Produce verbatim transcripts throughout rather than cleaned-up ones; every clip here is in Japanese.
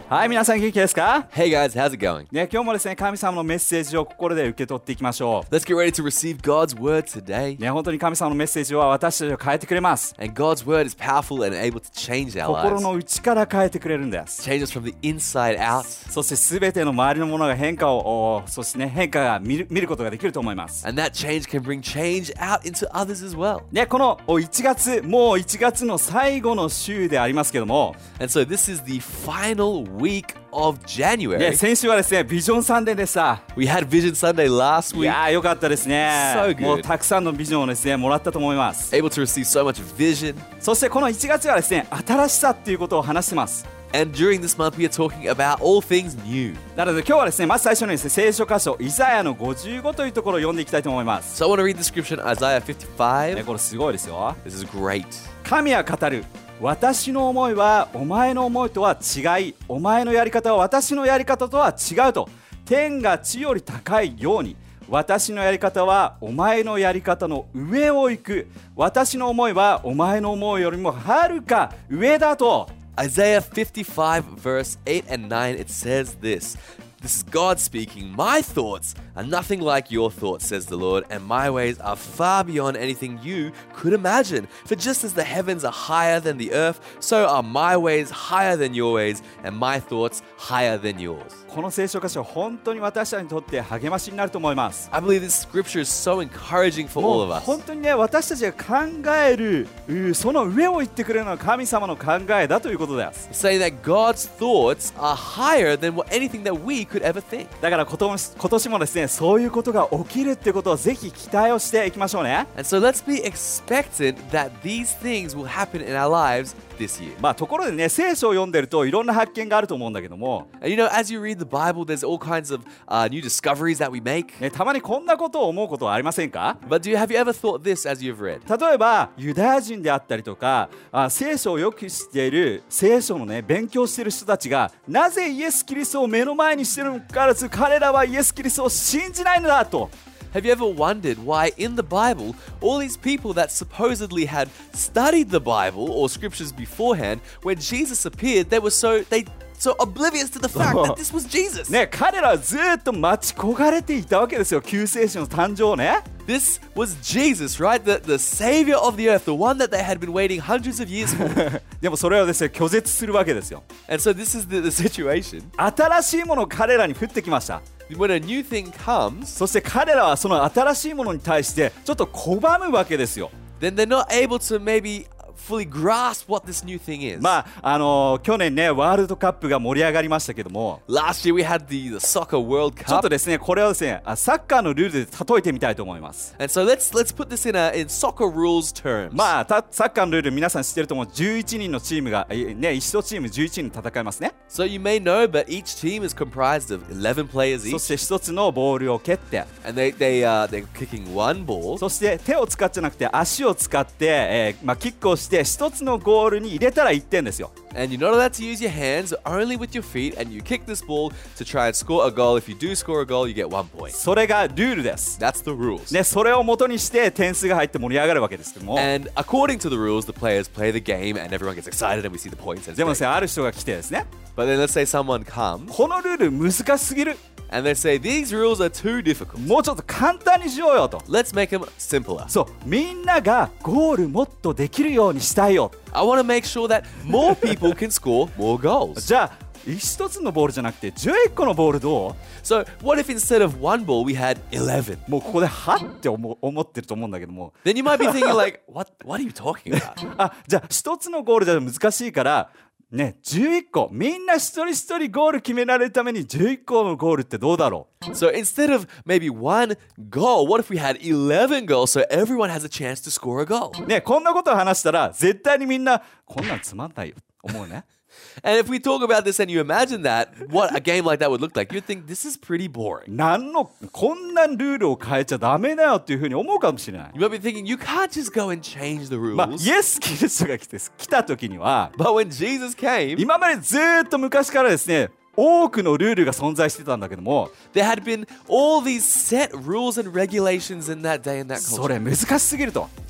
はい、皆さん元気ですか？ Hey guys, how's it going? ね、今日もですね、神様のメッセージを心で受け取っていきましょ Let's get ready to receive God's word today. う。ね、本当に神様のメッセージは私たちを変えてくれます。 And God's word is powerful and able to change our 心 lives. の内から変えてくれるんです。 Change us from the inside out. そしてすべての周りのものが変化を、おそしてね、変化が見る、見ることができると思います。 And that change can bring change out into others as well. ね、このおいちがつ、もういちがつの最後の週でありますけども、 And so this is the final week of ね、 January. 先週はですね、ビジョンサンデーでした。 We had Vision Sunday last い week. やー、よかったですね。 So good. もうたくさんのビジョンをですね、もらったと思います。 Able to receive so much vision. そしてこのいちがつはですね、新しさっていうことを話してます。 And during this month we are talking about all things new. なので今日はですね、まず最初にですね、聖書箇所イザヤのごじゅうごというところを読んでいきたいと思います。 So I want to read the scripture in Isaiah ね、 fifty-five. これすごいですよ。 This is great. 神は語る。私の思いはお前の思いとは違い、お前のやり方は私のやり方とは違うと。天が地より高いように、私のやり方はお前のやり方の上を行く。私の思いはお前の思いよりもはるか上だと。 Isaiah fifty-five verse eight and nine, it says this. This is God speaking. My thoughts are nothing like your thoughts, says the Lord, and my ways are far beyond anything you could imagine. For just as the heavens are higher than the earth, so are my ways higher than your ways, and my thoughts higher than yours. この聖書箇所本当に私たちにとって励ましになると思います。 I believe this scripture is so encouraging for も all う of us. 本当にね、私たちが考えるうその上を言ってくれるのは神様の考えだということです。 Saying that God's thoughts are higher than what anything that we could ever think. だから今年、今年もですね、そういうことが起きるっていうことをぜひ期待をしていきましょうね。 And so let's be expectant that these things will happen in our lives this year. まあところでね、聖書を読んでるといろんな発見があると思うんだけども、 And you know, as you read the Bible, there's all kinds of uh, new discoveries that we make. ね、たまにこんなことを思うことはありませんか？ But do you have you ever thought this as you've read? 例えばユダヤ人であったりとか、あ聖書をよく知っている聖書のね勉強している人たちがなぜイエス・キリストを目の前にしているのかからず彼らはイエス・キリストを信じないのだと。 Have you ever wondered why in the Bible, all these people that supposedly had studied the Bible or scriptures beforehand, when Jesus appeared, they were so they so oblivious to the fact that this was Jesus. ね、彼らはずっと待ち焦がれていたわけですよ、救世主の誕生をね。 This was Jesus, right? The, the savior of the earth, the one that they had been waiting hundreds of years for. でもそれをですね拒絶するわけですよ。 And so this is the, the situation. 新しいものを彼らに降ってきました。 When a new thing comes, そして彼らはその新しいものに対してちょっと拒むわけですよ。 then they're not able to maybe fully grasp what this new thing is. まああのー去年ねワールドカップが盛り上がりましたけども、 Last year we had the, the soccer World ちょっ Cup. とですねこれをですねあサッカーのルールで例えてみたいと思います。 And so let's let's put this in a in soccer rules terms. まあたサッカーのルール皆さん知ってると思う。じゅういちにんのチームがえね一チームじゅういちにん戦いますね。 So you may know, but each team is comprised of eleven players そ each, して一つのボールを蹴って、 and they they uh they're kicking one ball. そして手を使ってじゃなくて足を使って、えーまあ、キックをして一つのゴールに入れたらいってんですよ。 And you're not allowed to use your hands, only with your feet, and you kick this ball to try and score a goal. If you do score a goal, you get one point. それがルールです。 That's the rules. ね、それを元にして点数が入って盛り上がるわけですけども、 And according to the rules, the players play the game, and everyone gets excited, and we see the points. And it's でもですね great. ある人が来てですね、 But then let's say someone comes このルール難しすぎる、 and they say these rules are too difficult. もうちょっと簡単にしようよと。 Let's make them simpler. そう、みんながゴールもっとできるようにしたいよ。 I want to make sure that more people can score more goals. じゃあ一つのボールじゃなくてじゅういっこのボールどう？ So what if instead of one ball we had eleven? もうここではって思思ってると思うんだけども、 Then you might be thinking like, what what are you talking about? あ、じゃあ一つのゴールじゃ難しいからね、じゅういっこみんな一人一人ゴール決められるためにじゅういっこのゴールってどうだろう？ So instead of maybe one goal, what if we had eleven goals so everyone has a chance to score a goal? ね、こんなことを話したら絶対にみんなこんなんつまんないよ思うね。 And if we talk about this and you imagine that, what a game like that would look like, you'd think this is pretty boring. なんのこんなルールを変えちゃダメだよっていうふうに思うかもしれない。 You might be thinking, you can't just go and change the まあ、 rules. イエス・キリストが来て来た時には But when Jesus came, 今までずーっと昔からですね多くのルールが存在してたんだけども there had been all these set rules and regulations in that day and that そ culture. れ難しすぎると。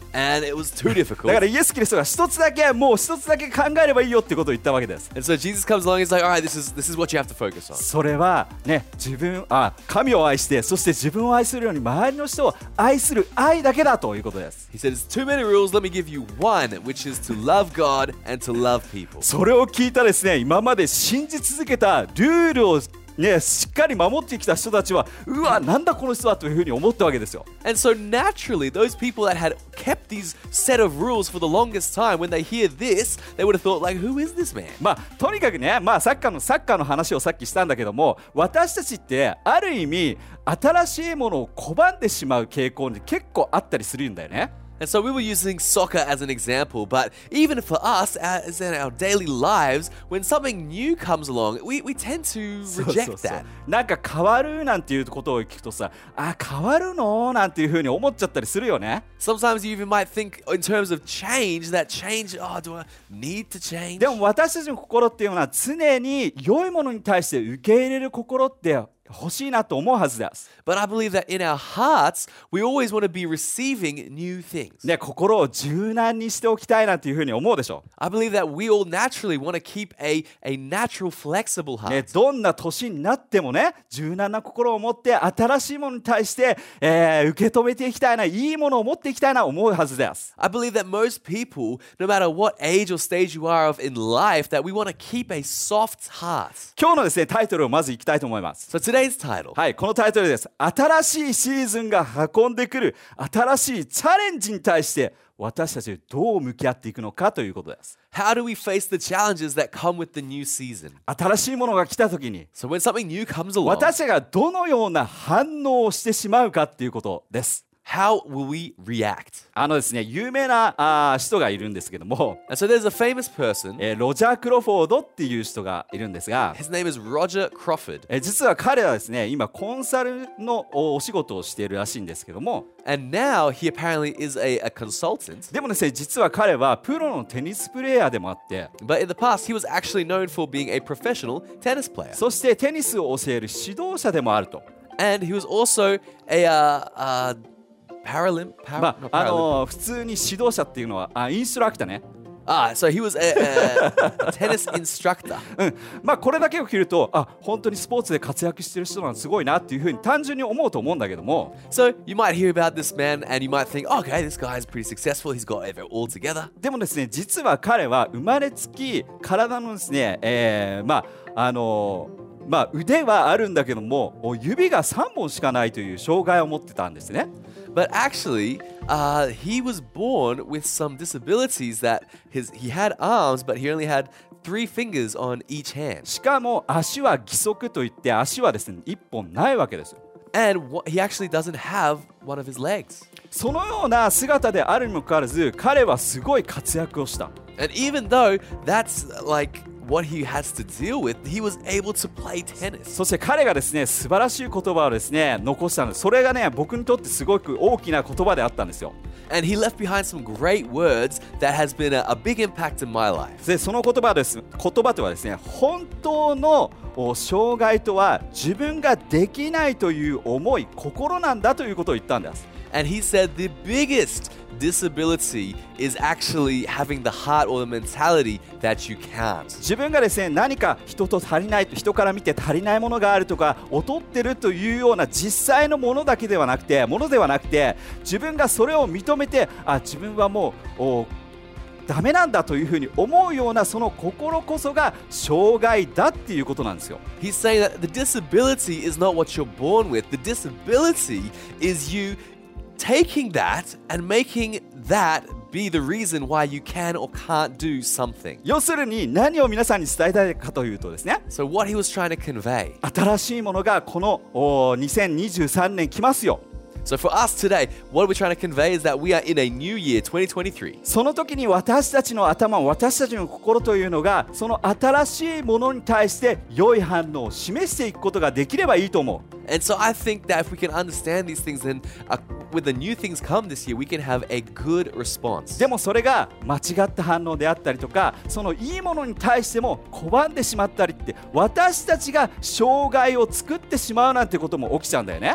And it was too difficult. だからイエス・キリストが一つだけもう一つだけ考えればいいよってことを言ったわけです。 And so Jesus comes along and he's like, all right, this is, this is what you have to focus on. それはね、自分あ神を愛して、そして自分を愛するように周りの人を愛する愛だけだということです。 He said, it's too many rules, let me give you one, which is to love God and to love people. それを聞いたですね、今まで信じ続けたルールをね、しっかり守ってきた人たちは、うわ、なんだこの人はというふうに思ったわけですよ。 And so naturally, those people that had kept these set of rules for the longest time, when they hear this, they would have thought, like, who is this man? まあ、とにかくね、まあ、サッカーのサッカーの話をさっきしたんだけども、私たちってある意味新しいものを拒んでしまう傾向に結構あったりするんだよね。 And so we were using soccer as an example, but even for us, as in our daily lives, when something new comes along, we, we tend to そう reject そうそう that. なんか変わるなんていうことを聞くとさ、あ、変わるのなんていうふうに思っちゃったりするよね。 Sometimes you even might think in terms of change, that change, oh, do I need to change? でも私たちの心っていうのは常に良いものに対して受け入れる心って欲しいなと思うはずです。 But I believe that in our hearts, we always want to be receiving new things. ね、心を柔軟にしておきたいなというふうに思うでしょ。 I believe that we all naturally want to keep a, a natural, flexible heart. ね、どんな年になってもね、柔軟な心を持って新しいものに対して、えー、受け止めていきたいな、いいものを持っていきたいな思うはずです。 I believe that most people, no matter what age or stage you are of in life, that we want to keep a soft heart. 今日のですね、タイトルをまずいきたいと思います。 So today's title. はい、このタイトルです。新しいシーズンが運んでくる新しいチャレンジに対して私たちどう向き合っていくのかということです。 How do we face the challenges that come with the new season? 新しいものが来た時に So when something new comes along, 私たちがどのような反応をしてしまうかっていうことです。 how will we react? あのですね、有名なあ人がいるんですけども、 And so there's a famous person. えーロジャー・クロフォードっていう人がいるんですが、 His name is Roger Crawford. えー実は彼はですね、今コンサルのおお仕事をしているらしいんですけども、 And now he apparently is a, a consultant. でもですね、実は彼はプロのテニスプレーヤーでもあって、 But in the past, he was actually known for being a professional tennis player. そしてテニスを教える指導者でもあると。 And he was also a uh, uh, Paralymp. Par- ま not あ、あ Paralympic. の普通に指導者っていうのはあインストラクターね。 Ah, so he was a, a, a tennis instructor. うん、まあこれだけを聞ると、あ、本当にスポーツで活躍してる人なのすごいなっていうふうに単純に思うと思うんだけども、 So you might hear about this man and you might think, okay, this guy is pretty successful. He's got it all together. でもですね、実は彼は生まれつき体のですね、えー、まああのまあ腕はあるんだけども、指がさんぼんしかないという障害を持ってたんですね。 But actually, uh, he was born with some disabilities that his he had arms, but he only had three fingers on each hand. しかも足は義足といって足はですねいっぽんないわけですよ。 And what, he actually doesn't have one of his legs. そのような姿であるにもかかわらず、彼はすごい活躍をした。 And even though that's like what he has to deal with, he was able to play tennis. そして彼がですね、素晴らしい言葉をですね残したんです。それがね、僕にとってすごく大きな言葉であったんですよ。 And he left behind some great words that has been a, a big impact in my life. でその言葉です。言葉とはですね、本当の障害とは自分ができないという思い、心なんだということを言ったんです。 And he said the biggest disability is actually having the heart or the mentality that you can't. 自分がですね、何か人と足りないと、人から見て足りないものがあるとか劣ってるというような実際のものだけではなくて、ものではなくて、自分がそれを認めて、あ、自分はもうおダメなんだというふうに思うようなその心こそが障害だっていうことなんですよ。 He's saying that the disability is not what you're born with. The disability is you taking that and making that be the reason why you can or can't do something. 要するに何を皆さんに伝えたいかというとですね、 So what he was trying to convey. 新しいものがこのおにせんにじゅうさんねん来ますよ。 So for us today, what we're trying to convey is that we are in a new year, twenty twenty-three. その時に私たちの頭、私たちの心というのがその新しいものに対して良い反応を示していくことができればいいと思う。 And so I think that if we can understand these things, then uh, when the new things come this year, we can have a good response. でもそれが間違った反応であったりとか、そのいいものに対しても拒んでしまったりって、私たちが障害を作ってしまうなんてことも起きちゃうんだよね。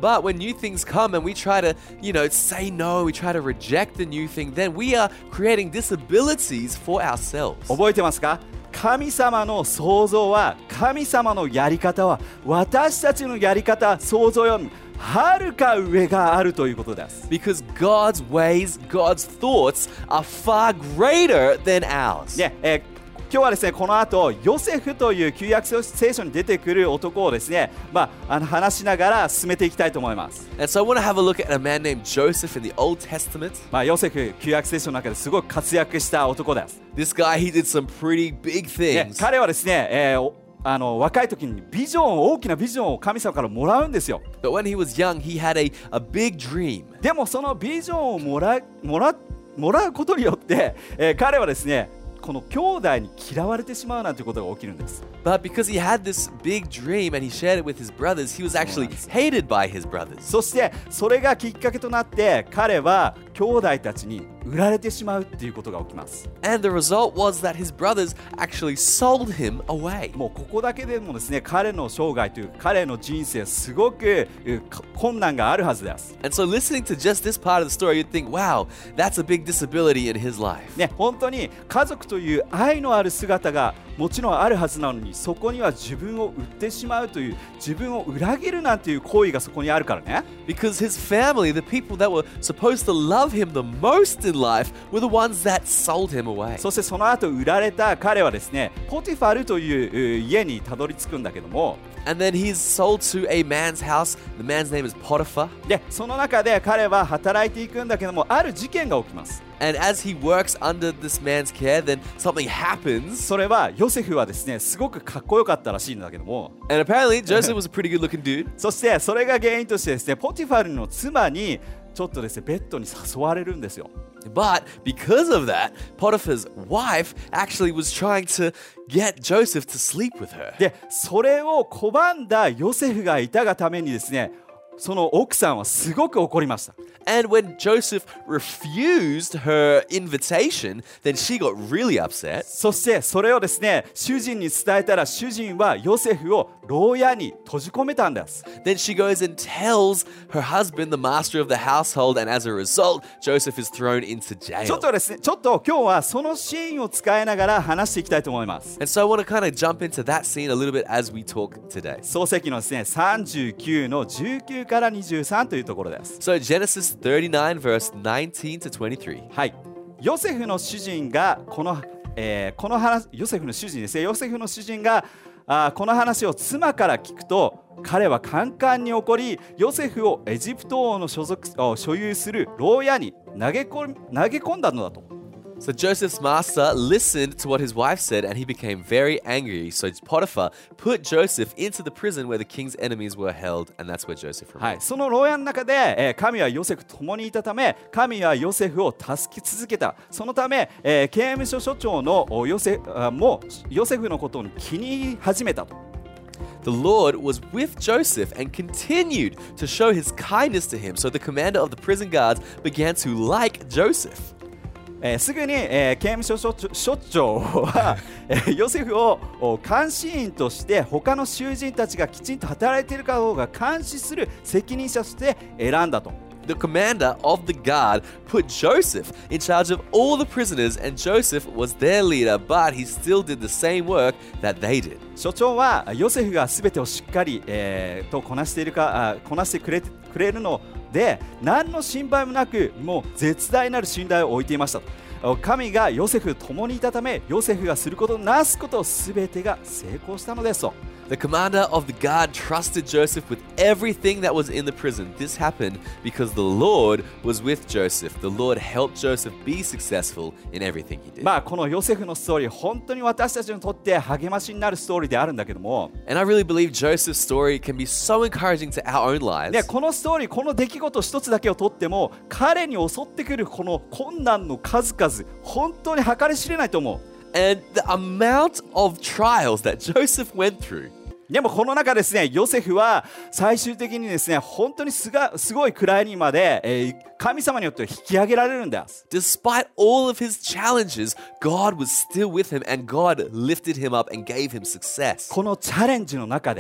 But when new things come and we try to, you know, say no, we try to reject the new thing, then we are creating disabilities for ourselves. 覚えてますか？神様の創造は、神様のやり方は私たちのやり方、創造よりもはるか上があるということです。 Because God's ways, God's thoughts are far greater than ours. ねえー今日はですね、この後ヨセフという旧約聖書に出てくる男をですね、まあ、あの話しながら進めていきたいと思います。 And so I want to have a look at a man named Joseph in the Old Testament. まあ、ヨセフ、旧約聖書の中ですごく活躍した男です。 This guy, he did some pretty big ね、 things. 彼はですね、えーあの若い時にビジョン大きなビジョンを神様からもらうんですよ。 But when he was young, he had a, a big dream. でもそのビジョンをもらもらもらうことによって、えー彼はですね、この兄弟に嫌われてしまうなんてことが起きるんです。 But because he had this big dream and he shared it with his brothers, he was actually hated by his brothers. そしてそれがきっかけとなって彼は兄弟たちに売られてしまうっていうことが起きます。 And the result was that his brothers actually sold him away. もうここだけでもですね、彼の生涯という彼の人生すごくう困難があるはずです。 And so listening to just this part of the story, you'd think, wow, that's a big disability in his life. ね、本当に家族という愛のある姿がもちろんあるはずなのに、そこには自分を売ってしまうという自分を裏切るなんていう行為がそこにあるからね。 Because his family, the people that were supposed to love him the most in life, were the ones that sold him away. そしてその後売られた彼はですね、ポティファルというう家にたどり着くんだけども、 And then he's sold to a man's house. The man's name is Potiphar. でその中で彼は働いていくんだけども、ある事件が起きます。 And as he works under this man's care, then something happens. それはヨセフはですね、すごくかっこよかったらしいんだけども、 And apparently, Joseph was a pretty good looking dude. そしてそれが原因としてですね、ポティファルの妻にちょっとですね、ベッドに誘われるんですよ。 But because of that, Potiphar's wife actually was trying to get Joseph to sleep with her. でそれを拒んだヨセフがいたがためにですね、その奥さんはすごく怒りました。 And when Joseph refused her invitation, then she got really upset. そしてそれをですね、主人に伝えたら、主人はヨセフを牢屋に閉じ込めたんです。 Then she goes and tells her husband, the master of the household, and as a result, Joseph is thrown into ちょ jail. っとですね、ちょっと今日はそのシーンを使いながら話していきたいと思います。 And so I want to kind of jump into that scene a little bit as we talk today. 創世記のですね、さんじゅうきゅうのじゅうきゅうからにじゅうさんというところです。 So Genesis thirty-nine, verse nineteen to twenty-three. はい、ヨセフの主人がこの、えーこの話、ヨセフの主人ですね、ヨセフの主人があこの話を妻から聞くと、彼はカンカンに怒り、ヨセフをエジプト王の所属所有する牢屋に投げ込み投げ込んだのだと。 So Joseph's master listened to what his wife said and he became very angry. So Potiphar put Joseph into the prison where the king's enemies were held, and that's where Joseph は remained. い、その牢屋の中で、えー神はヨセフと共にいたため、神はヨセフを助け続けた。そのため、えー刑務所所長のおヨセあもヨセフのことを気に入り始めたと。 The Lord was with Joseph and continued to show his kindness to him. So the commander of the prison guards began to like Joseph. えーすぐに、えー刑務所所長所長は、えーヨセフをお監視員として他の囚人たちがきちんと働いているかどうか監視する責任者として選んだと。 The commander of the guard put Joseph in charge of all the prisoners, and Joseph was their leader, but he still did the same work that they did. 所長はヨセフが全てをしっかり、えーとこなしているかあこなしてくれくれるので、何の心配もなく、もう絶大なる信頼を置いていましたと。神がヨセフと共にいたため、ヨセフがすることなすこと全てが成功したのですと。 The commander of the guard trusted Joseph with everything that was in the prison. This happened because the Lord was with Joseph. The Lord helped Joseph be successful in everything he did. まあこのヨセフのストーリー、本当に私たちにとって励ましになるストーリーであるんだけども、 And I really believe Joseph's story can be so encouraging to our own lives. ね、このストーリー、この出来事一つだけをとっても、彼に襲ってくるこの困難の数々、本当に計り知れないと思う。 And the amount of trials that Joseph went through. でもこの中ですね、ヨセフは最終的にですね、本当にすがすごい位にまで、えー神様によって引き上げられるんです。 Despite all of his challenges, God was still with him and God lifted him up and gave him success. このチャレンジの中で、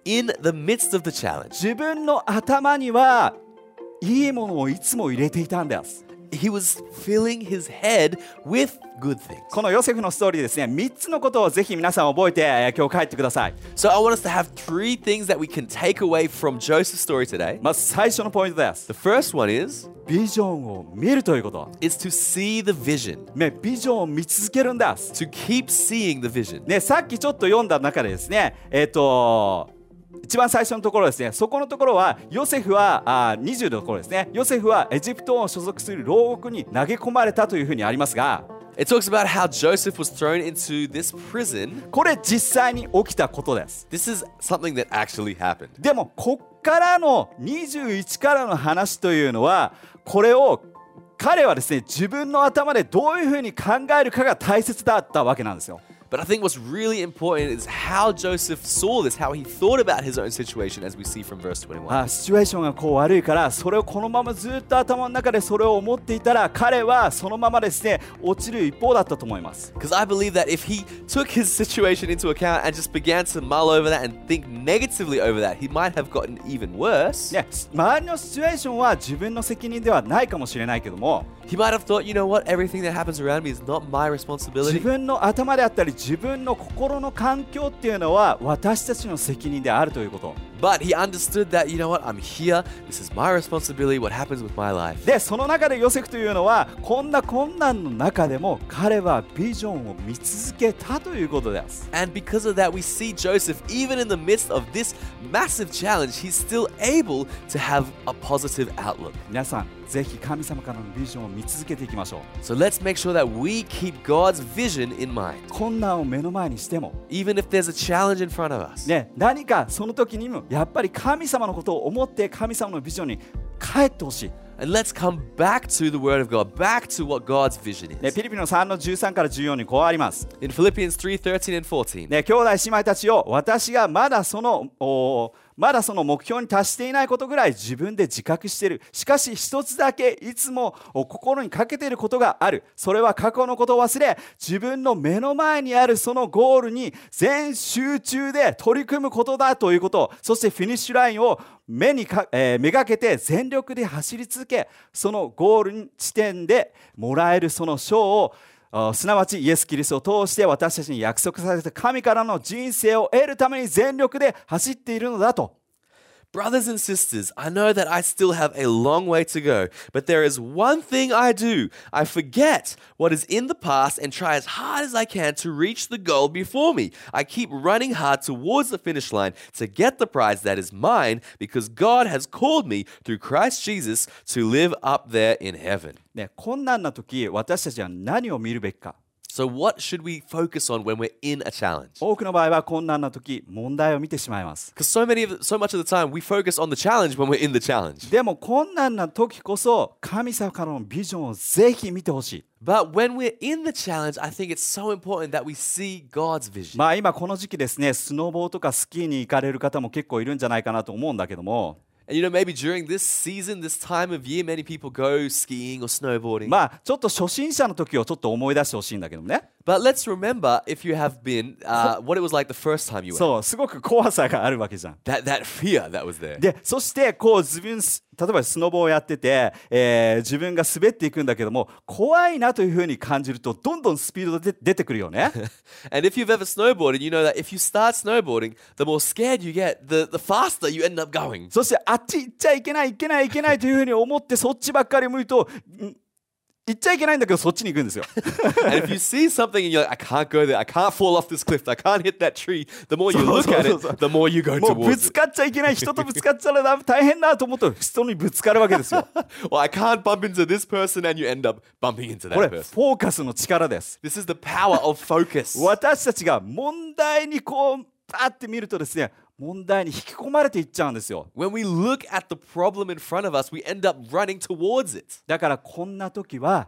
in the midst of the challenge, 自分の頭にはいいものをいつも入れていたんです。 he was filling his head with good things. このヨセフのストーリーですね、みっつのことをぜひ皆さん覚えて、えー今日帰ってください。 So I want us to have three things that we can take away from Joseph's story today. まず最初のポイントです。 The first one is ビジョンを見るということ。 is to see the vision, ね、ビジョンを見続けるんです。 to keep seeing the vision. ね、さっきちょっと読んだ中でですね、えっ、と一番最初のところですね、そこのところはヨセフはあにじゅうのところですね、ヨセフはエジプト王所属する牢獄に投げ込まれたというふうにありますが、 It talks about how Joseph was thrown into this prison. これ実際に起きたことです。 This is something that actually happened. でもこっからのにじゅういちからの話というのは、これを彼はですね、自分の頭でどういうふうに考えるかが大切だったわけなんですよ。 But I think what's really important is how Joseph saw this, how he thought about his own situation, as we see from verse twenty-one. あ、シチュエーションがこう悪いから、それをこのままずっと頭の中でそれを思っていたら、彼はそのままですね、落ちる一方だったと思います。 Because I believe that if he took his situation into account and just began to mull over that and think negatively over that, he might have gotten even worse. ね、周りのシチュエーションは自分の責任ではないかもしれないけども、 He might have thought, you know what, everything that happens around me is not my 自 responsibility. 分の頭であったり自分の心の環境っていうのは私たちの責任であるということ。 But he understood that, you know what, I'm here, this is my responsibility, what happens with my life. で、その中でヨセフというのはこんな困難の中でも彼はビジョンを見続けたということです。 And because of that, we see Joseph, even in the midst of this massive challenge, he's still able to have a positive outlook. 皆さんぜひ神様からのビジョンを見続けていきましょう。 So let's make sure that we keep God's vision in mind. 困難を目の前にしても、 Even if there's a challenge in front of us. ね、何かその時にもやっぱり神様のことを思って神様のビジョンに帰ってほしい。 And let's come back to the Word of God, back to what God's vision ね、 is. ピリピのさんのじゅうさんからじゅうよんにこうあります。 In Philippians three thirteen and fourteen. ね、兄弟姉妹たちよ、私がまだそのおまだその目標に達していないことぐらい自分で自覚している。しかし一つだけいつもお心にかけていることがある。それは過去のことを忘れ、自分の目の前にあるそのゴールに全集中で取り組むことだということ。そしてフィニッシュラインを目にか、えー、めがけて全力で走り続け、そのゴール地点でもらえるその賞を、すなわちイエス・キリストを通して私たちに約束された神からの人生を得るために全力で走っているのだと。 Brothers and sisters, I know that I still have a long way to go, but there is one thing I do. I forget what is in the past and try as hard as I can to reach the goal before me. I keep running hard towards the finish line to get the prize that is mine because God has called me through Christ Jesus to live up there in heaven. ね、困難な時、私たちは何を見るべきか。 So what should we focus on when we're in a challenge? 多くの場合は困難な時、問題を見てしまいます。 Because so many of the, so much of the time we focus on the challenge when we're in the challenge. でも困難な時こそ神様からのビジョンをぜひ見てほしい。 But when we're in the challenge, I think it's so important that we see God's vision. まあ今この時期ですね、スノボーとかスキーに行かれる方も結構いるんじゃないかなと思うんだけども、 And you know, maybe during this season, this time of year, many people go skiing or snowboarding. まあちょっと初心者の時をちょっと思い出してほしいんだけどもね。 But let's remember, if you have been, uh, what it was like the first time you went. そう、すごく怖さがあるわけじゃん。 That, that fear that was there. で、そしてこう自分、例えばスノボをやってて、えー自分が滑っていくんだけども、怖いなというふうに感じるとどんどんスピードで出てくるよね。 And if you've ever snowboarded, you know that if you start snowboarding, the more scared you get, the, the faster you end up going. そしてあっち行っちゃいけない行けない行けないというふうに思ってそっちばっかり向いと、ん行っちゃいけないんだけどそっちに行くんですよ。 And if you see something and you're like, I can't go there, I can't fall off this cliff, I can't hit that tree, the more you look at it, the more you go もうぶ towards つ it. かっちゃいけない、人とぶつかっちゃら大変だと思うと人にぶつかるわけですよ。 Well, I can't bump into this person and you end up bumping into こ that れ person. フォーカスの力です。 This is the power of focus. 私たちが問題にこうパーって見るとですね、問題に引き込まれていっちゃうんですよ。 When we look at the problem in front of us, we end up running towards it. だからこんな時は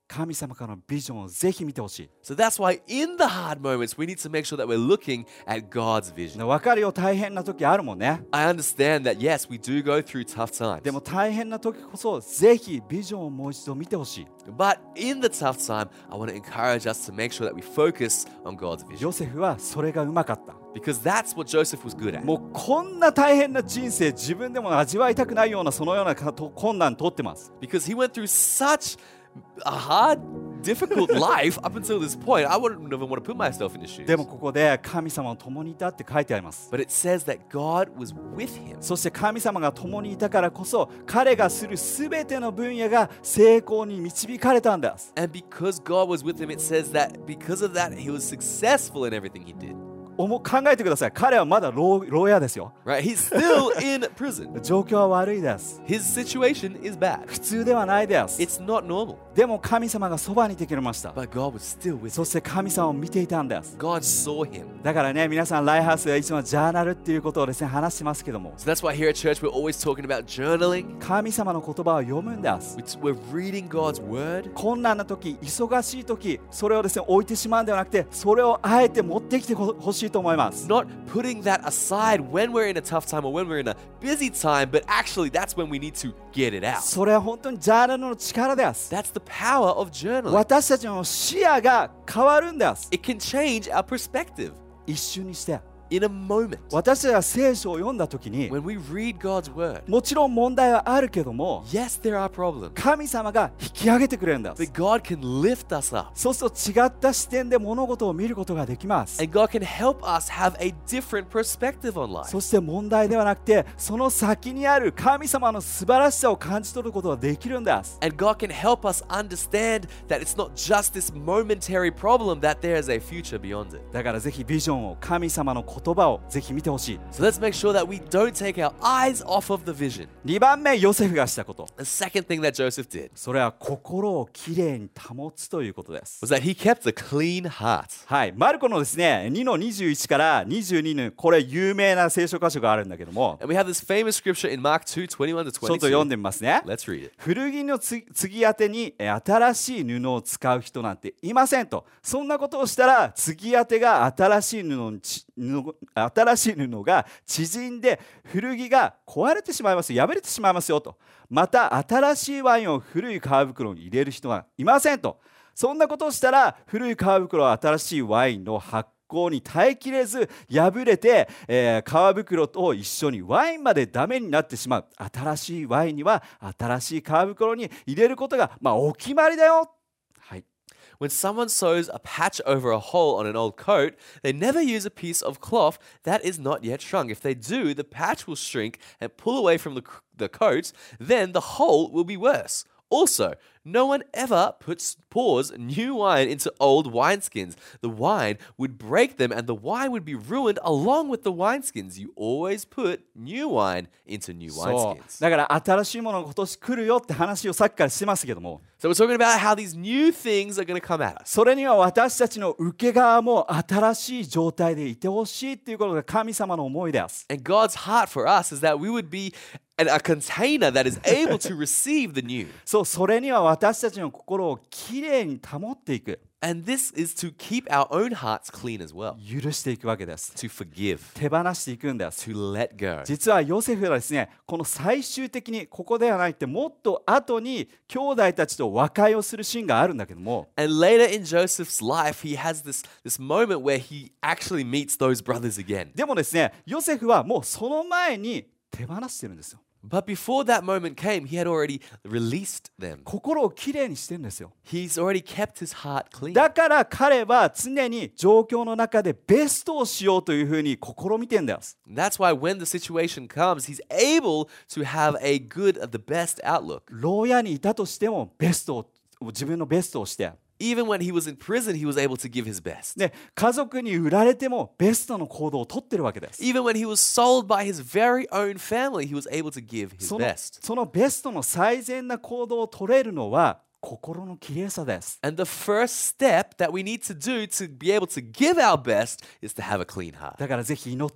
神様からのビジョンをぜひ見てほしい。 So that's why in the hard moments, we need to make sure that we're looking at God's vision. 分かるよ、大変な時あるもんね。 I understand that, yes, we do go through tough times. でも大変な時こそぜひビジョンをもう一度見てほしい。 But in the tough time, I want to encourage us to make sure that we focus on God's vision. ヨセフはそれがうまかった。 Because that's what Joseph was good at. もうこんな大変な人生、自分でも味わいたくないようなそのような困難通ってます。 Because he went through such a hard, difficult life up until this point. I wouldn't even want to put myself in his shoes. でもここで神様の共にいたって書いてあります。 But it says that God was with him. そして神様が共にいたからこそ彼がするすべての分野が成功に導かれたんです。 And because God was with him, it says that because of that, he was successful in everything he did. おも考えてください。彼はまだ牢牢屋ですよ。 Right? He's still in prison. 状況は悪いです。 His situation is bad. 普通ではないです。 It's not normal. でも神様がそばにいてくれました。 But God was still with そ him. して神様を見ていたんです。 God saw him. だからね、皆さんライハウスはいつもジャーナルっていうことをですね話してますけども、 So that's why here at church we're always talking about journaling. 神様の言葉を読むんです。 We're reading God's word. 困難な時、忙しい時、それをですね置いてしまうんではなくて、それをあえて持ってきてほしいと思います。 Not putting that aside when we're in a tough time or when we're in a busy time, but actually that's when we need to get it out. それは本当にジャーナルの力です。 That's the power of journaling. 私たちの視野が変わるんです。 It can change our perspective 一瞬にして。 in a moment. 私たちが聖書を読んだ時に、 When we read God's word, もちろん問題はあるけども、 yes, there are problems, 神様が引き上げてくれるんです。 but God can lift us up. そうすると違った視点で物事を見ることができます。 And God can help us have a different perspective on life. そして問題ではなくて、その先にある神様の素晴らしさを感じ取ることができるんです。 And God can help us understand that it's not just this momentary problem, that there is a future beyond it. だからぜひビジョンを、神様の言葉をぜひ見てほしい。 So let's make sure that we don't take our eyes off of the vision. にばんめ、ヨセフがしたこと。 The second thing that Joseph did それは心をきれいに保つということです。 was that he kept a clean heart. はい、マルコのですね、にのにじゅういちからにじゅうにのこれ有名な聖書箇所があるんだけども、 And we have this famous scripture in Mark two twenty-one to ちょっと読ん twenty-two. でみますね。 Let's read it. 古着のつ継ぎ当てにえ新しい布を使う人なんていませんと。そんなことをしたら継ぎ当てが新しい布にち布新しい布が縮んで古着が壊れてしまいますよ、破れてしまいますよと。また新しいワインを古い皮袋に入れる人はいませんと。そんなことをしたら古い皮袋は新しいワインの発酵に耐えきれず破れて、えー、皮袋と一緒にワインまでダメになってしまう。新しいワインには新しい皮袋に入れることが、まあ、お決まりだよ。はい。 When someone sews a patch over a hole on an old coat, they never use a piece of cloth that is not yet shrunk. If they do, the patch will shrink and pull away from the, the coat, then the hole will be worse. Also, no one ever puts pours new wine into old wineskins. The wine would break them and the wine would be ruined along with the wineskins. You always put new wine into new そう wineskins. だから新しいものが今年来るよって話をさっきからしてますけども、 So we're talking about how these new things are going to come at us. それには私たちの受け側も新しい状態でいてほしいっていうことが神様の思いです。 And God's heart for us is that we would be an, a container that is able to receive the new. そう、それには私たちの心をきれいに保っていく、 And this is to keep our own hearts clean as well. 許していくわけです。 To forgive. 手放していくんです。 To let go. 実はヨセフはですね、この最終的にここではなくてもっと後に兄弟たちと和解をするシーンがあるんだけども、 And later in Joseph's life, he has this, this moment where he actually meets those brothers again. でもですね、ヨセフはもうその前に手放してるんですよ。 But before that moment came, he had already released them. 心をきれいにしてるんですよ。 He's already kept his heart clean. だから彼は常に状況の中でベストをしようというふうに試みてんです。 That's why when the situation comes, he's able to have a good, the best outlook. 牢屋にいたとしてもベストを自分のベストをして、 Even when he was in prison, he was able to give his best. で家族に売られてもベストの行動をとってるわけです。 Even when he was sold by his very own family, he was able to give his その best. そのベストの最善な行動を取れるのは心のきれいさです。 And the first step that we need to do to be able to give our best is to have a clean heart. だからぜひ祈って、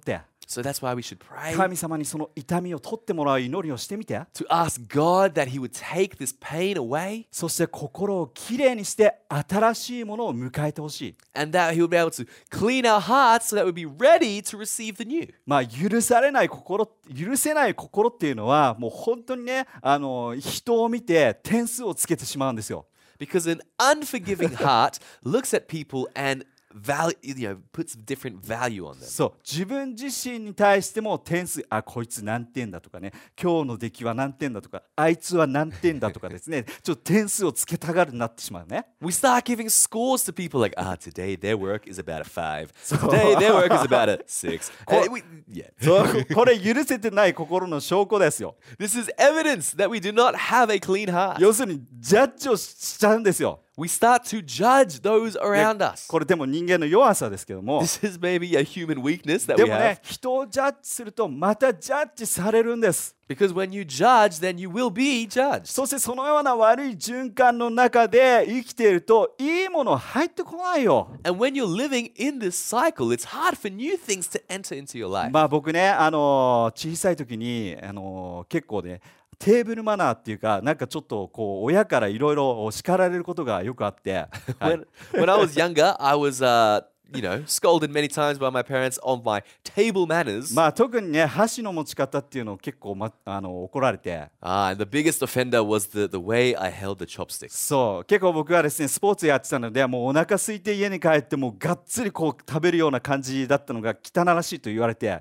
So that's why we should pray 神様にその痛みを取ってもらう祈りをしてみて。 to ask God that He would take this pain away そして心をきれいにして新しいものを迎えてほしい。 and that He would be able to clean our hearts so that we'd be ready to receive the new. まあ許されない心、許せない心っていうのはもう本当にね、あの人を見て点数をつけてしまうんですよ。 Because an unforgiving heart looks at people and value, you know, puts different value on them. そう自分自身に対しても点数、あこいつ何点だとかね、今日の出来は何点だとか、あいつは何点だとかですね、ちょっと点数をつけたがるなってしまうね。 We start giving scores to people like, ah, today their work is about a five. Today their work is about a six. And we, yeah. そうこれ許せてない心の証拠ですよ。 This is evidence that we do not have a clean heart. 要するにジャッジをしちゃうんですよ。 We start to judge those around us. これでも人間の弱さですけども、 This is maybe a human weakness that で we も have. ね、人をジャッジするとまたジャッジされるんです。 Because when you judge, then you will be judged. そしてそのような悪い循環の中で生きているといいもの入ってこないよ。 And when you're living in this cycle, it's hard for new things to enter into your life. まあ僕ね、あの小さい時に、あの結構ね、テーブルマナーっていうか、なんかちょっとこう親からいろいろ叱られることがよくあって、はい When, when I was younger, I was, uh, you know, scolded many times by my parents on my table manners. まあ特にね、箸の持ち方っていうのを結構、ま、あの怒られて、 Ah, and the biggest offender was the, the way I held the chopsticks. そう結構僕はですねスポーツやってたので、もうお腹空いて家に帰ってもうがっつりこう食べるような感じだったのが汚らしいと言われて、 And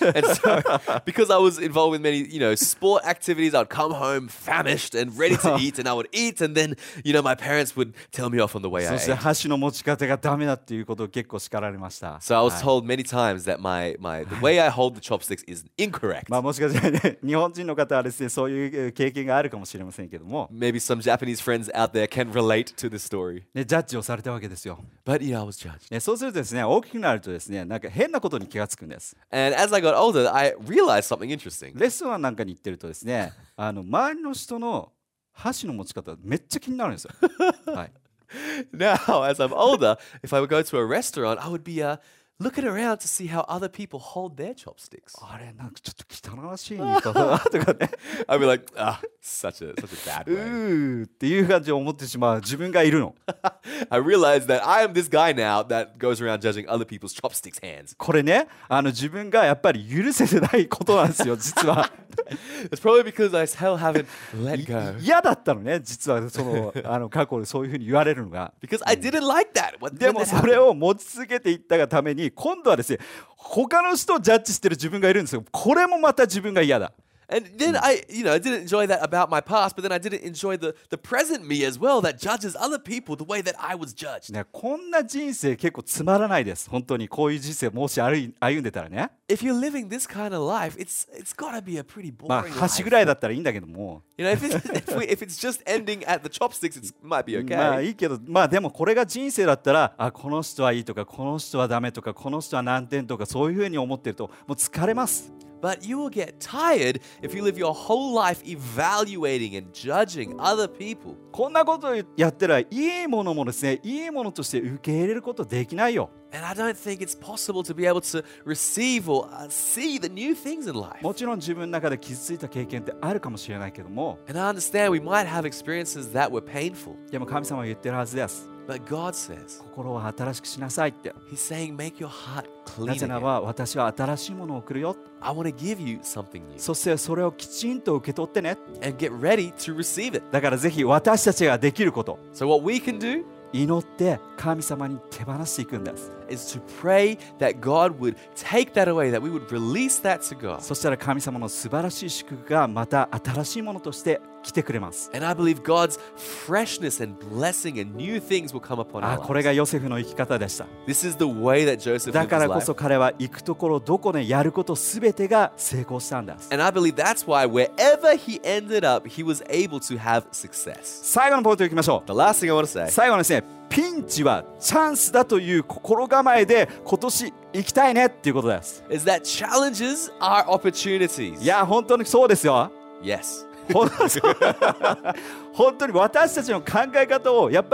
so, because I was involved in many, you know, sport activities, I'd come home famished and ready to eat, and I would eat, and then, you know, my parents would tell me off on the way I そして ate. 箸の持ち方がダメだっていうことを結構叱られました。 So I was はい told many times that my, my the way I hold the chopsticks is incorrect. まあもしかしたらね、日本人の方はですねそういう経験があるかもしれませんけども、 Maybe some Japanese friends out there can relate to this story. ね、ジャッジをされたわけですよ。 But, you know, I was judged. ね、そうするとですね、大きくなるとですね、なんか変なことに気がつくんです。 And as I got older, I realized something interesting. レストランなんかに行ってるとですね、あの周りの人の箸の持ち方めっちゃ気になるんですよ。はい。 Now, as I'm older, if I would go to a restaurant, I would be uh, looking around to see how other people hold their chopsticks. あれなんかちょっと汚らしい言い方だなとかね、 I'd be like, ah, such a such a bad う way. ーっていう感じで思ってしまう自分がいるの。 I realized that I am this guy now that goes around judging other people's chopsticks hands. これね、あの自分がやっぱり許せてないことなんですよ、実は。 It's probably because I still haven't let go. 嫌だったのね、実はそのあの過去でそういうふうに言われるのが。 Because I didn't like that. What, で when も that それ happened. を持ち続けていったがために、今度はですね、他の人をジャッジしてる自分がいるんですよ。これもまた自分が嫌だ。 And then I, you know, I didn't enjoy that about my past, but then I didn't enjoy the, the present me as well that judges other people the way that I was judged. ね、こんな人生結構つまらないです。本当にこういう人生もし歩い歩んでたらね。 If you're living this kind of life, it's it's got to be a pretty まあ boring 箸 life. ぐらいだったらいいんだけども。 You know, if it's, if, we, if it's just ending at the chopsticks, it might be まあ okay. いいけど、まあでもこれが人生だったら、あこの人はいいとか、この人はダメとか、この人は何点とか、そういうふうに思ってるともう疲れます。 But you will get tired if you live your whole life evaluating and judging other people. こんなことをやってらいいものもですね、いいものとして受け入れることできないよ。 And I don't think it's possible to be able to receive or uh, see the new things in life. もちろん自分の中で傷ついた経験ってあるかもしれないけども、 And I understand we might have experiences that were painful. でも神様は言ってるはずです。 But God says, 心を新しくしなさいって。 He's saying, make your heart な clean ぜなら again. ば私は新しいものを送るよ。 I want to give you something new. そしてそれをきちんと受け取ってね。 And get ready to receive it. だからぜひ私たちができること、 So what we can do 祈って神様に手放していくんです。 is to pray that God would take that away, that we would release that to God. そしたら神様の素晴らしい祝福がまた新しいものとして来てくれます。 And I believe God's freshness and blessing and new things will come upon あ、 our これ lives. がヨセフの生き方でした。 This is the way that Joseph だ lived か his らこ life. そ彼は行くところどこでやることすべてが成功したんです。 And I believe that's why wherever he ended up, he was able to have success. 最後のポイントいきましょ The last thing I want to say う。最後はですね、ピンチはチャンスだという心構えで今年行きたいねっていうことです。 is that challenges are opportunities. いや本当にそうですよ。 Yes. 本当に本当に私たちの考え方をやっぱり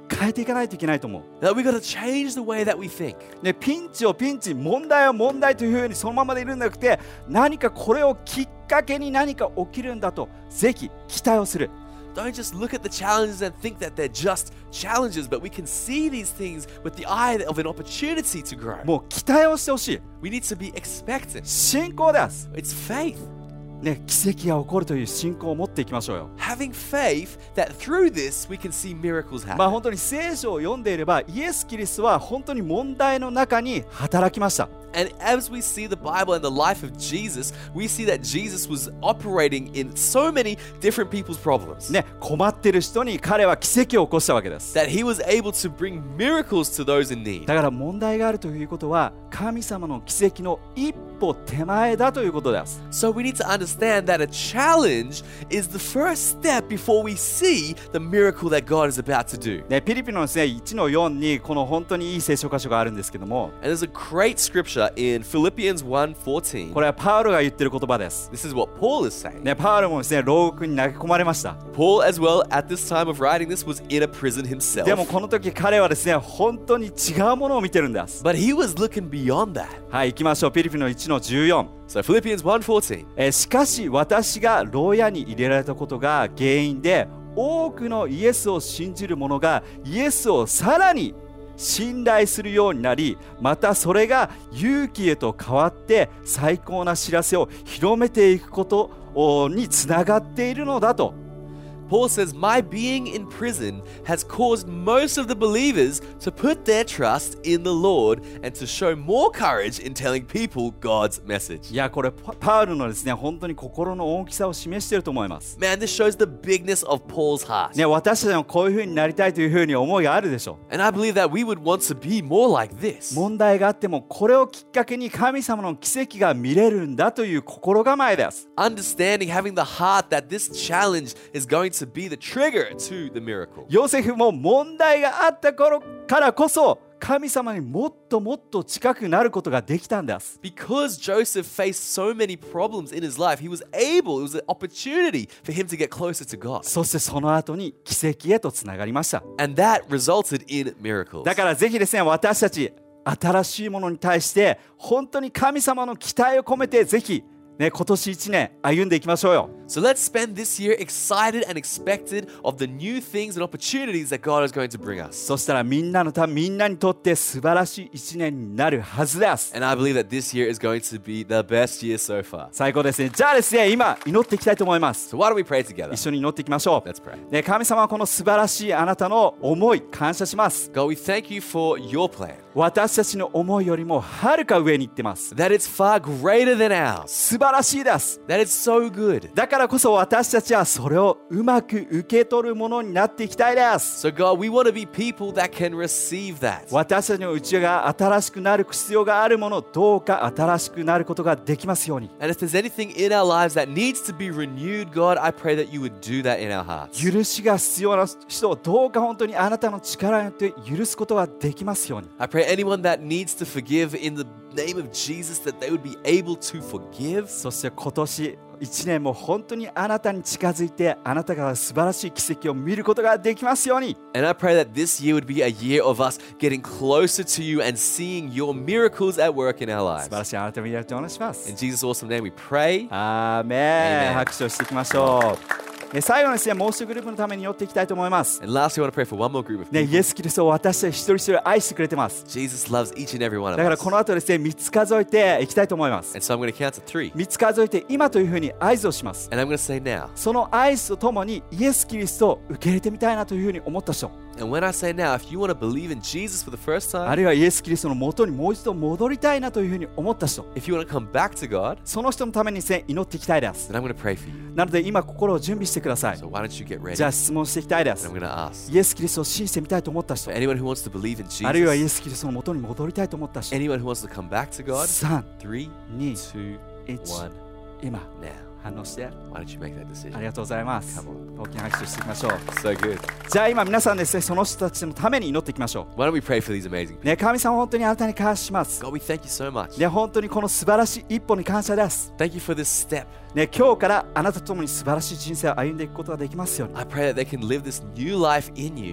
変えていかないといけないと思う。 That we got to change the way that we think. ね、ピンチをピンチ、問題を問題というふうにそのままでいるんじゃなくて、何かこれをきっかけに何か起きるんだとぜひ期待をする。 Don't just look at the challenges and think that they're just challenges, but we can see these things with the eye of an opportunity to grow. もう期待をしてほしい。 We need to be expectant. 信仰です、 It's faith. ね、奇跡が起こるという信仰を持っていきましょうよ。 Having faith that through this we can see miracles まあ happen. 本当に聖書を読んでいれば、イエス・キリストは本当に問題の中に働きました。 And as we see the Bible and the life of Jesus, we see that Jesus was operating in so many different people's problems. ね、困っている人に彼は奇跡を起こしたわけです。 That he was able to bring miracles to those in need. だから問題があるということは、神様の奇跡の一歩手前だということです。 So we need to understand that a challenge is the first step before we see the miracle that God is about to do. ね、ピリピのですね、いちのよんにこの本当にいい聖書箇所があるんですけども、 And there's a great scripture in Philippians one fourteen. これはパウロが言ってる言葉です。 This is what Paul is saying. ね、パウロもですね、牢獄に投げ込まれました。 Paul as well at this time of writing this was in a prison himself. でもこの時彼はですね、本当に違うものを見てるんです。 But he was looking beyond that. はい、行きましょう。ピリピのいちのじゅうよん。 So Philippians one fourteen. えーしかし私が牢屋に入れられたことが原因で、多くのイエスを信じる者がイエスをさらに信頼するようになり、またそれが勇気へと変わって最高な知らせを広めていくことにつながっているのだと。 Paul says, my being in prison has caused most of the believers to put their trust in the Lord and to show more courage in telling people God's message. いや、これパパウルのですね、本当に心の大きさを示していると思います。 Man, this shows the bigness of Paul's heart. ね、私たちもこういう風になりたいという風に思いがあるでしょう。 And I believe that we would want to be more like this. 問題があってもこれをきっかけに神様の奇跡が見れるんだという心構えです。 Understanding, having the heart that this challenge is going to be the trigger to the miracle. ヨセフも問題があった頃からこそ神様にもっともっと近くなることができたんです。 Because Joseph faced so many problems in his life, he was able, it was an opportunity for him to get closer to God. そしてその後に奇跡へとつながりました。 And that resulted in miracles. だからぜひですね、私たち新しいものに対して本当に神様の期待を込めてぜひね、今年いちねん歩んでいきましょうよ。 So let's spend this year excited and expected of the new things and opportunities that God is going to bring us. そしたらみんなのため、みんなにとって素晴らしいいちねんになるはずです。 And I believe that this year is going to be the best year so far. 最高ですね。じゃあですね、今祈っていきたいと思います。 So why don't we pray together? 一緒に祈っていきましょう。 Let's pray. ね、神様はこの素晴らしいあなたの思い感謝します。 God, we thank you for your plan. 私たちの思いよりもはるか上に行ってます。 That it's far greater than ours. 素晴らしいです。 That it's so good. だからこそ私たちはそれをうまく受け取るものになっていきたいです。 So God, we want to be people that can receive that. 私たちの内が新しくなる必要があるもの、どうか新しくなることができますように。 And if there's anything in our lives that needs to be renewed, God, I pray that you would do that in our hearts. 許しが必要な人をどうか本当にあなたの力によって許すことができますように。 I pray anyone that needs to forgive in the name of Jesus, that they would be able to forgive. そして今年いちねんも本当にあなたに近づいて、あなたが素晴らしい奇跡を見ることができますように。 And I pray that this year would be a year of us getting closer to you and seeing your miracles at work in our 素 lives. 晴らしいあなたを見られてお願いします。 In Jesus' awesome name we pray. アーメン。 Amen 拍手をしていきましょう。え最後のですね、もう一グループのために祈っていきたいと思います。 And lastly, I want to pray for one more group of ね、 people. イエス・キリストを私たち一人一人愛してくれてます。 Jesus loves each and every one だ of から us. この後ですね、みっつ数えていきたいと思います。 And so I'm going to count to three. みっつ数えて今というふうに合図をします。 And I'm going to say now. その合図とともにイエス・キリストを受け入れてみたいなというふうに思った人、 And when I say now, if you want to believe in Jesus for the first あ time, るいはイエス・キリストの元にもう一度戻りたいなというふうに思った人、 if you want to come back to God, その人のためにですね、祈っていきたいです。 then I'm going to pray for you. なので今心を準備してください。 So why don't you get ready? じゃあ質問していきたいで And す I'm。going to ask. イエス・キリストを信じてみたいと思った人、 For anyone who wants to believe in あるいはイエ Jesus, ス・キリストの元に戻りたいと思った人、 anyone who wants to come back to God, さん、 three, に、 two, いち、 one, 今 now. 反応して。 Why don't you make that あ decision? りがとうございます。 Come 大きな拍手をしていきましょう。 So good. じゃあ今皆さんですね、その人たちのために祈っていきましょ Why don't we pray for these amazing う。 people? ね、神様本当にあなたに感謝します。 God, we thank you so much. ね、本当にこの素晴らしい一歩に感謝です。 Thank you for this step. ね、今日からあなたと共に素晴らしい人生を歩んでいくことができますように。 I pray that they can live this new life in you.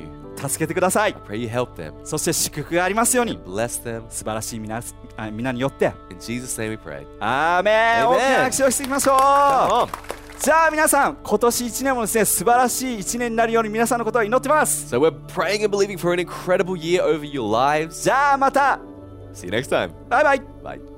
助けてください。 I pray you help them. そして祝福がありますように Bless them. 素晴らしい皆あ皆によって In Jesus' name we pray. アーメン。 Amen. 大きな拍手をしていきましょう。 Come on. じゃあ皆さん、今年いちねんもですね、素晴らしいいちねんになるように皆さんのことを祈ってます。 So we're praying and believing for an incredible year over your lives. じゃあまた。 See you next time. バイバイ。 Bye.